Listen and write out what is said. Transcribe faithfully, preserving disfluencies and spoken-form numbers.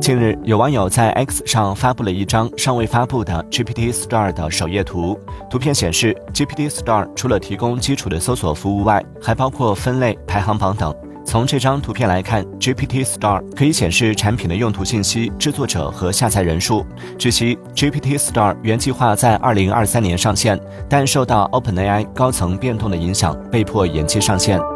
近日，有网友在 X 上发布了一张尚未发布的 G P T Store 的首页图。图片显示 ，G P T Store 除了提供基础的搜索服务外，还包括分类、排行榜等。从这张图片来看 ，G P T Store 可以显示产品的用途信息、制作者和下载人数。据悉 ，G P T Store 原计划在二零二三年上线，但受到 OpenAI 高层变动的影响，被迫延期上线。